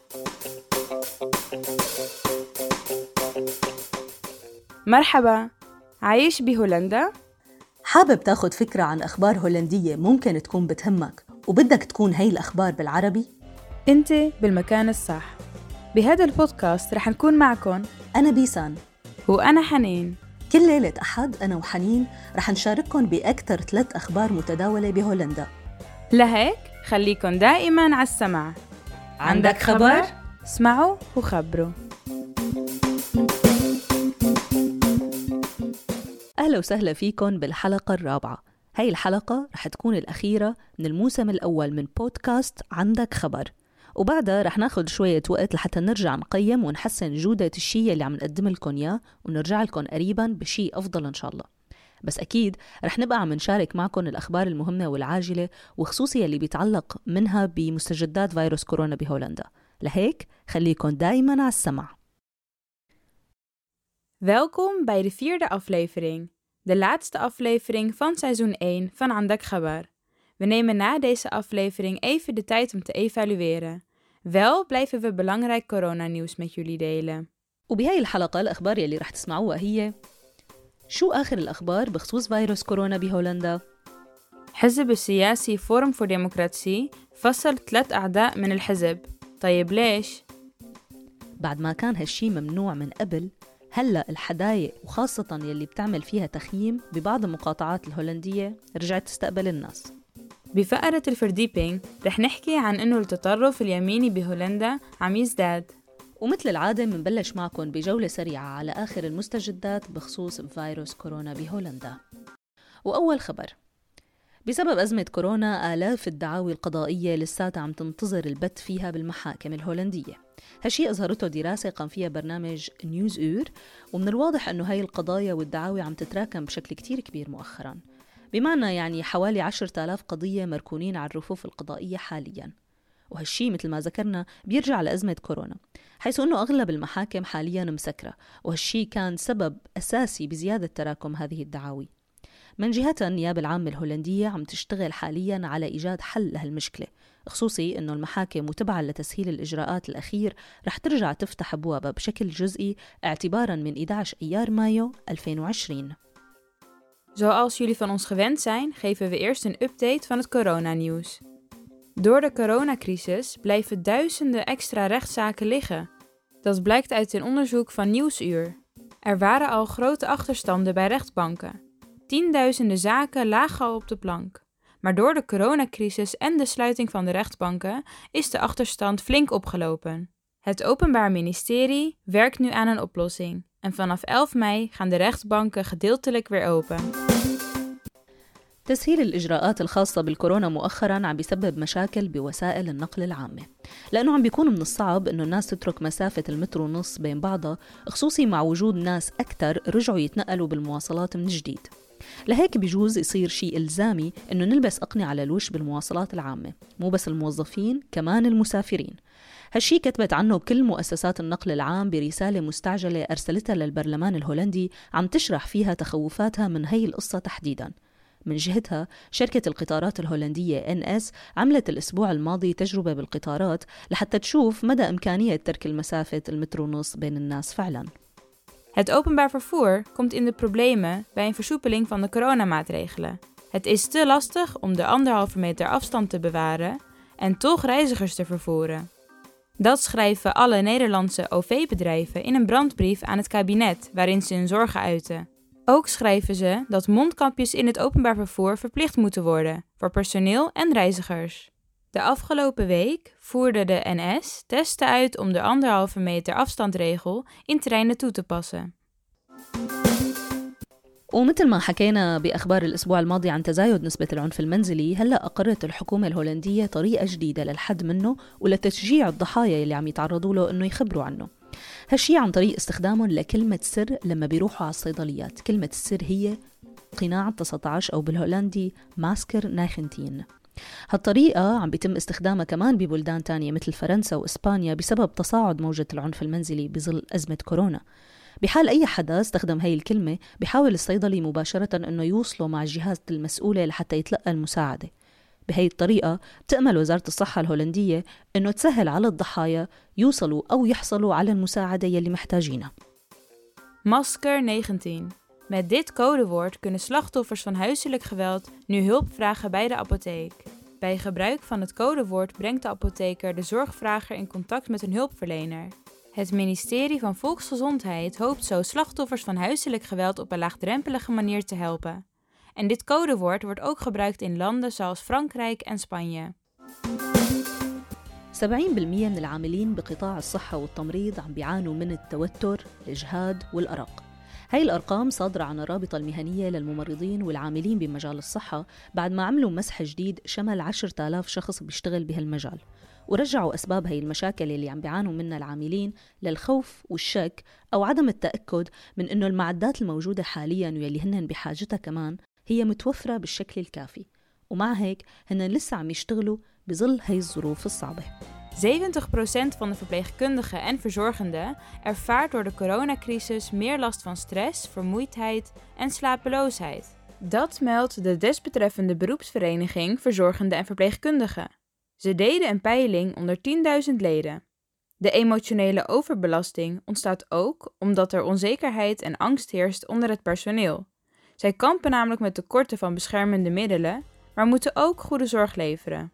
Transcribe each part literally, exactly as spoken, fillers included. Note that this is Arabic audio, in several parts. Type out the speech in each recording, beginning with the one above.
مرحبا، عايش بهولندا؟ حابب تاخد فكرة عن أخبار هولندية ممكن تكون بتهمك وبدك تكون هاي الأخبار بالعربي؟ انت بالمكان الصح. بهذا البودكاست رح نكون معكم أنا بيسان وأنا حنين. كل ليلة أحد أنا وحنين رح نشارككم بأكثر ثلاث أخبار متداولة بهولندا. لهيك خليكن دائماً على السمع. عندك خبر؟ اسمعوا وخبروا. أهلا وسهلا فيكم بالحلقة الرابعة. هاي الحلقة رح تكون الأخيرة من الموسم الأول من بودكاست عندك خبر، وبعدها رح ناخد شوية وقت لحتى نرجع نقيم ونحسن جودة الشيء اللي عم نقدم لكم إياه، ونرجع لكم قريباً بشيء أفضل إن شاء الله. بس أكيد رح نبقى عم نشارك معكم الأخبار المهمة والعاجلة، وخصوصي اللي بيتعلق منها بمستجدات فيروس كورونا بهولندا. لهيك خليكم دايماً على السمع. Welkom bij de vierde aflevering, de laatste aflevering van seizoen één van عندك خبر. We nemen na deze aflevering even de tijd om te evalueren. Wel blijven we belangrijk coronanieuws met jullie delen. وبهاي الحلقة الأخبار يلي رح تسمعوها هي: شو آخر الأخبار بخصوص فيروس كورونا بهولندا؟ حزب السياسي فورم فور ديمقراطية فصل ثلاث أعضاء من الحزب. طيب ليش؟ بعد ما كان هالشي ممنوع من قبل، هلأ الحدايق وخاصة يلي بتعمل فيها تخييم ببعض المقاطعات الهولندية رجعت تستقبل الناس. بفقرة الفرديبينج رح نحكي عن إنه التطرف اليميني بهولندا عم يزداد. ومثل العادة منبلش معكم بجولة سريعة على آخر المستجدات بخصوص فيروس كورونا بهولندا. وأول خبر: بسبب أزمة كورونا آلاف الدعاوي القضائية لساتها عم تنتظر البت فيها بالمحاكم الهولندية. هالشي أظهرته دراسة قام فيها برنامج نيوز أور، ومن الواضح أنه هاي القضايا والدعاوي عم تتراكم بشكل كتير كبير مؤخراً، بمعنى يعني حوالي عشرة آلاف قضية مركونين على الرفوف القضائية حالياً. وهالشي مثل ما ذكرنا بيرجع لأزمة كورونا، حيث أنه أغلب المحاكم حالياً مسكرة، وهالشي كان سبب أساسي بزيادة تراكم هذه الدعاوي. من جهتها النيابة العامة الهولندية عم تشتغل حالياً على إيجاد حل لهالمشكلة، خصوصي أنه المحاكم وتبعاً لتسهيل الإجراءات الأخير رح ترجع تفتح أبوابها بشكل جزئي اعتباراً من إحدى عشر أيار مايو ألفين وعشرين. Zoals jullie van ons gewend zijn, geven we eerst een update van het coronanieuws. Door de coronacrisis blijven duizenden extra rechtszaken liggen. Dat blijkt uit een onderzoek van Nieuwsuur. Er waren al grote achterstanden bij rechtbanken. Tienduizenden zaken lagen al op de plank. Maar door de coronacrisis en de sluiting van de rechtbanken is de achterstand flink opgelopen. Het Openbaar Ministerie werkt nu aan een oplossing. En vanaf elf mei gaan de rechtbanken gedeeltelijk weer open. تسهيل الإجراءات الخاصة بالكورونا مؤخراً عم بيسبب مشاكل بوسائل النقل العامة، لأنه عم بيكون من الصعب أنه الناس تترك مسافة المتر ونص بين بعضها، خصوصي مع وجود ناس أكتر رجعوا يتنقلوا بالمواصلات من جديد. لهيك بيجوز يصير شيء إلزامي أنه نلبس أقنعة على الوش بالمواصلات العامة، مو بس الموظفين كمان المسافرين. هالشي كتبت عنه كل مؤسسات النقل العام برسالة مستعجلة أرسلتها للبرلمان الهولندي عم تشرح فيها تخوفاتها من هي القصة تحديداً. من جهتها شركة القطارات الهولندية إن إس عملت الأسبوع الماضي تجربة بالقطارات لحتى تشوف مدى إمكانية ترك المسافة المتر ونص بين الناس فعلاً. Het openbaar vervoer komt in de problemen bij een versoepeling van de coronamaatregelen. Het is te lastig om de anderhalve meter afstand te bewaren en toch reizigers te vervoeren. Dat schrijven alle Nederlandse O V-bedrijven in een brandbrief aan het kabinet waarin ze hun zorgen uiten. Ook schrijven ze dat mondkapjes in het openbaar vervoer verplicht moeten worden voor personeel en reizigers. De afgelopen week voerde de N S testen uit om de anderhalve meter afstandregel in treinen toe te passen. ومثل ما حكينا بأخبار الأسبوع الماضي عن تزايد نسبة العنف المنزلي، هلأ أقرت الحكومة الهولندية طريقة جديدة للحد منه ولتشجيع الضحايا اللي عم يتعرضوا له إنه يخبروا عنه. هالشي عن طريق استخدامهم لكلمة سر لما بيروحوا على الصيدليات. كلمة السر هي قناع تسعة عشر أو بالهولندي ماسكر نايخنتين. هالطريقة عم بيتم استخدامها كمان ببلدان تانية مثل فرنسا وإسبانيا بسبب تصاعد موجة العنف المنزلي بظل أزمة كورونا. بحال أي حدا استخدم هاي الكلمة بيحاول الصيدلي مباشرة أنه يوصله مع الجهات المسؤولة لحتى يتلقى المساعدة. بهي الطريقة بتأمل وزارة الصحة الهولندية إنه تسهل على الضحايا يوصلوا أو يحصلوا على المساعدة يلي محتاجينها. Masker negentien. Met dit codewoord kunnen slachtoffers van huiselijk geweld nu hulp vragen bij de apotheek. Bij gebruik van het codewoord brengt de apotheker de zorgvrager in contact met een hulpverlener. Het ministerie van Volksgezondheid hoopt zo slachtoffers van huiselijk geweld op een laagdrempelige manier te helpen. En dit codewoord wordt ook gebruikt in landen zoals Frankrijk en Spanje. سبعين بالمئة من العاملين بقطاع الصحة والتمريض عم بيعانوا من التوتر، الإجهاد والأرق. هاي الأرقام صادرة عن الرابطة المهنية للممرضين والعاملين بمجال الصحة بعد ما عملوا مسح جديد شمل عشرة آلاف شخص بيشتغل بهالمجال، ورجعوا أسباب هاي المشاكل اللي عم بيعانوا منها العاملين للخوف والشك أو عدم التأكد من إنه المعدات الموجودة حالياً واللي هن بحاجتها كمان هي متوفرة بالشكل الكافي، ومع هيك هن لسه عم يشتغلوا بظل هاي الظروف الصعبة. zeventig procent van de verpleegkundigen en verzorgenden ervaart door de coronacrisis meer last van stress, vermoeidheid en slapeloosheid. Dat meldt de desbetreffende beroepsvereniging Verzorgenden en Verpleegkundigen. Ze deden een peiling onder tienduizend leden. De emotionele overbelasting ontstaat ook omdat er onzekerheid en angst heerst onder het personeel. Zij kampen namelijk met tekorten van beschermende middelen, maar moeten ook goede zorg leveren.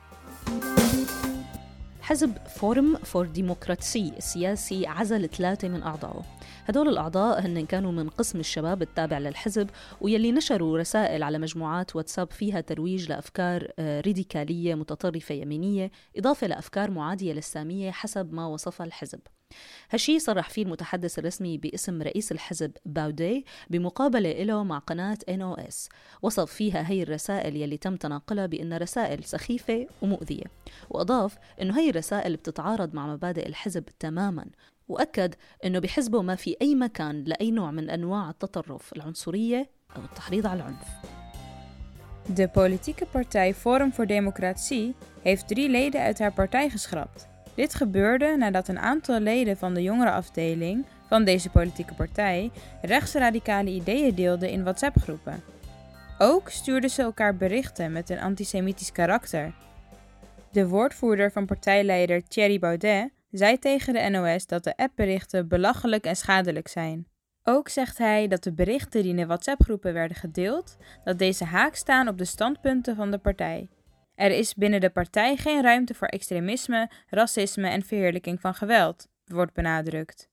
حزب فورم فور ديمقراطسي السياسي عزل ثلاثة من أعضائه. هدول الأعضاء هن كانوا من قسم الشباب التابع للحزب ويلي نشروا رسائل على مجموعات واتساب فيها ترويج لأفكار راديكالية متطرفة يمينية إضافة لأفكار معادية للسامية حسب ما وصفها الحزب. هالشي صرح فيه المتحدث الرسمي باسم رئيس الحزب باودي بمقابلة له مع قناة إن أو إس، وصف فيها هي الرسائل يلي تم تناقلها بأنها رسائل سخيفة ومؤذية، وأضاف أنه هي الرسائل بتتعارض مع مبادئ الحزب تماماً، وأكد أنه بحزبه ما في أي مكان لأي نوع من أنواع التطرف، العنصرية أو التحريض على العنف. De politieke partij Forum voor Democratie heeft drie leden uit haar partij geschrapt. Dit gebeurde nadat een aantal leden van de jongerenafdeling van deze politieke partij rechtsradicale ideeën deelden in WhatsApp-groepen. Ook stuurden ze elkaar berichten met een antisemitisch karakter. De woordvoerder van partijleider Thierry Baudet zei tegen de N O S dat de appberichten belachelijk en schadelijk zijn. Ook zegt hij dat de berichten die in de WhatsApp-groepen werden gedeeld, dat deze haak staan op de standpunten van de partij. Er is binnen de partij geen ruimte voor extremisme, racisme en verheerlijking van geweld, wordt benadrukt.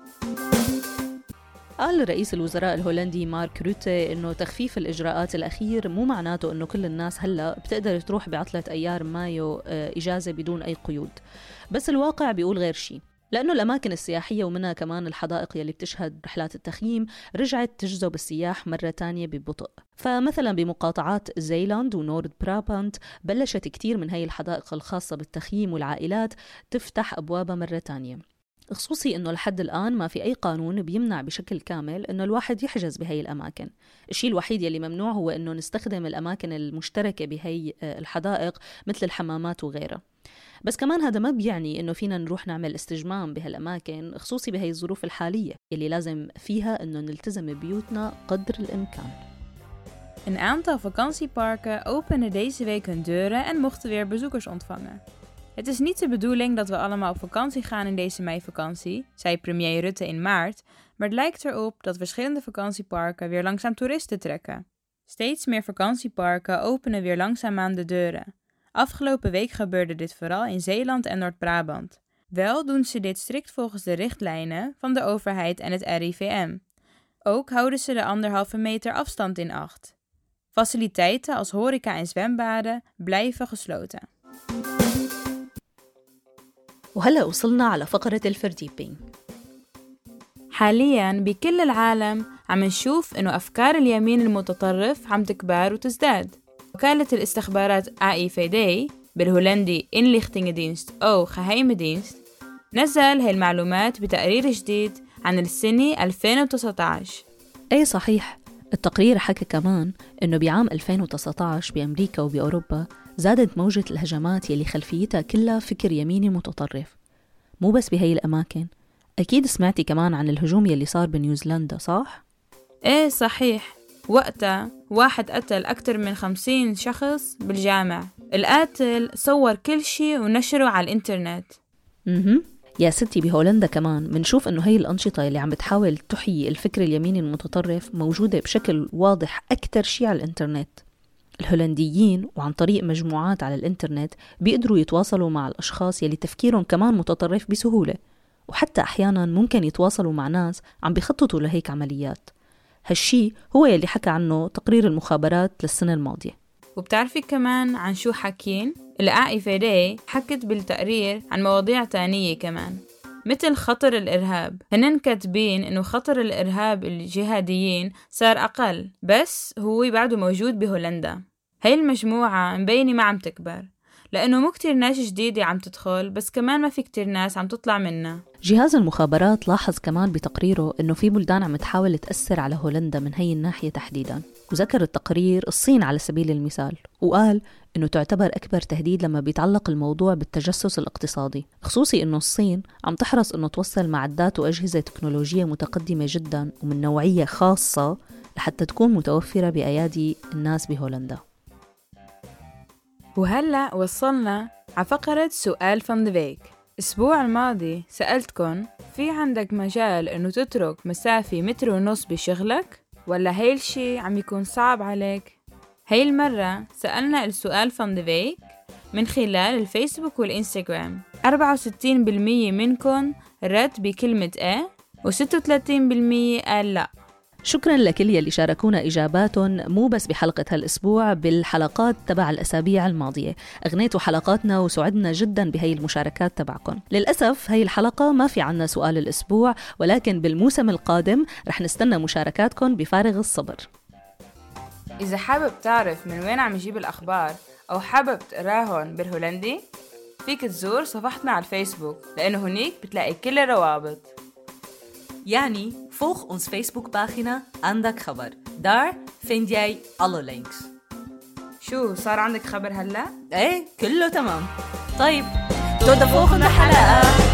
قال رئيس الوزراء الهولندي مارك روتي إنه تخفيف الإجراءات الأخير مو معناته إنه كل الناس هلأ بتقدر تروح بعطلة أيار مايو إجازة بدون أي قيود، بس الواقع بيقول غير شيء، لأنه الأماكن السياحية ومنها كمان الحدائق يلي بتشهد رحلات التخييم رجعت تجذب السياح مرة تانية ببطء. فمثلا بمقاطعات زيلاند ونورد برابانت بلشت كتير من هاي الحدائق الخاصة بالتخييم والعائلات تفتح أبوابها مرة تانية، خصوصي إنه لحد الآن ما في أي قانون بيمنع بشكل كامل إنه الواحد يحجز بهاي الأماكن. الشيء الوحيد يلي ممنوع هو إنه نستخدم الأماكن المشتركة بهاي الحدائق مثل الحمامات وغيرها. بس كمان هذا ما بيعني إنه فينا نروح نعمل استجمام بهالأماكن، خصوصي بهاي الظروف الحالية يلي لازم فيها إنه نلتزم ببيوتنا قدر الإمكان. Een aantal vakantieparken openden deze week hun deuren en mochten weer bezoekers ontvangen. Het is niet de bedoeling dat we allemaal op vakantie gaan in deze meivakantie, zei premier Rutte in maart, maar het lijkt erop dat verschillende vakantieparken weer langzaam toeristen trekken. Steeds meer vakantieparken openen weer langzaamaan de deuren. Afgelopen week gebeurde dit vooral in Zeeland en Noord-Brabant. Wel doen ze dit strikt volgens de richtlijnen van de overheid en het R I V M. Ook houden ze de anderhalve meter afstand in acht. Faciliteiten als horeca en zwembaden blijven gesloten. وهلأ وصلنا على فقرة الفرديبينج. حالياً بكل العالم عم نشوف إنه أفكار اليمين المتطرف عم تكبر وتزداد. وكالة الاستخبارات A I V D بالهولندي Inlichtingendienst أو Geheime Dienst نزل هاي المعلومات بتقرير جديد عن السنة ألفين وتسعة عشر. أي صحيح، التقرير حكى كمان إنه بعام ألفين وتسعة عشر بأمريكا وبأوروبا زادت موجة الهجمات يلي خلفيتها كلها فكر يميني متطرف. مو بس بهاي الأماكن، أكيد سمعتي كمان عن الهجوم يلي صار بنيوزيلندا صح؟ إيه صحيح، وقتها واحد قتل أكتر من خمسين شخص بالجامع. القاتل صور كل شيء ونشره على الإنترنت. مهم. يا ستي بهولندا كمان منشوف إنه هاي الأنشطة اللي عم بتحاول تحيي الفكر اليميني المتطرف موجودة بشكل واضح أكتر شيء على الإنترنت. الهولنديين وعن طريق مجموعات على الإنترنت بيقدروا يتواصلوا مع الأشخاص يلي تفكيرهم كمان متطرف بسهولة، وحتى أحياناً ممكن يتواصلوا مع ناس عم بيخططوا لهيك عمليات. هالشي هو يلي حكى عنه تقرير المخابرات للسنة الماضية. وبتعرفي كمان عن شو حكين؟ الآي إف دي حكت بالتقرير عن مواضيع تانية كمان، مثل خطر الإرهاب. هنن كاتبين إنه خطر الإرهاب الجهاديين صار أقل، بس هو بعده موجود بهولندا. هاي المجموعة مبينة ما عم تكبر، لأنه مو كتير ناس جديدة عم تدخل، بس كمان ما في كتير ناس عم تطلع منها. جهاز المخابرات لاحظ كمان بتقريره إنه في بلدان عم تحاول تأثر على هولندا من هاي الناحية تحديداً، وذكر التقرير الصين على سبيل المثال، وقال إنه تعتبر أكبر تهديد لما بيتعلق الموضوع بالتجسس الاقتصادي، خصوصي إنه الصين عم تحرص إنه توصل معدات وأجهزة تكنولوجية متقدمة جداً ومن نوعية خاصة لحتى تكون متوفرة بأيادي الناس بهولندا. وهلأ وصلنا على فقرة سؤال فان ذا فيك. الأسبوع الماضي سألتكن في عندك مجال إنه تترك مسافة متر ونص بشغلك، ولا هاي الشي عم يكون صعب عليك؟ هاي المرة سألنا السؤال فان ذا فيك من خلال الفيسبوك والإنستغرام. أربعة وستين بالمية منكن رد بكلمة إيه، وستة وثلاثين بالمية قال لأ. شكراً لكل يلي شاركونا إجاباتهم، مو بس بحلقة هالأسبوع، بالحلقات تبع الأسابيع الماضية. أغنيتوا حلقاتنا وسعدنا جداً بهاي المشاركات تبعكم. للأسف هاي الحلقة ما في عنا سؤال الأسبوع، ولكن بالموسم القادم رح نستنى مشاركاتكم بفارغ الصبر. إذا حابب تعرف من وين عم يجيب الأخبار أو حابب تقراهن بالهولندي، فيك تزور صفحتنا على الفيسبوك، لأنه هناك بتلاقي كل الروابط. يعني volg ons Facebookpagina عندك خبر. daar vind jij alle links. شو صار عندك خبر هلا؟ ايه كله تمام. طيب tot de volgende حلقة.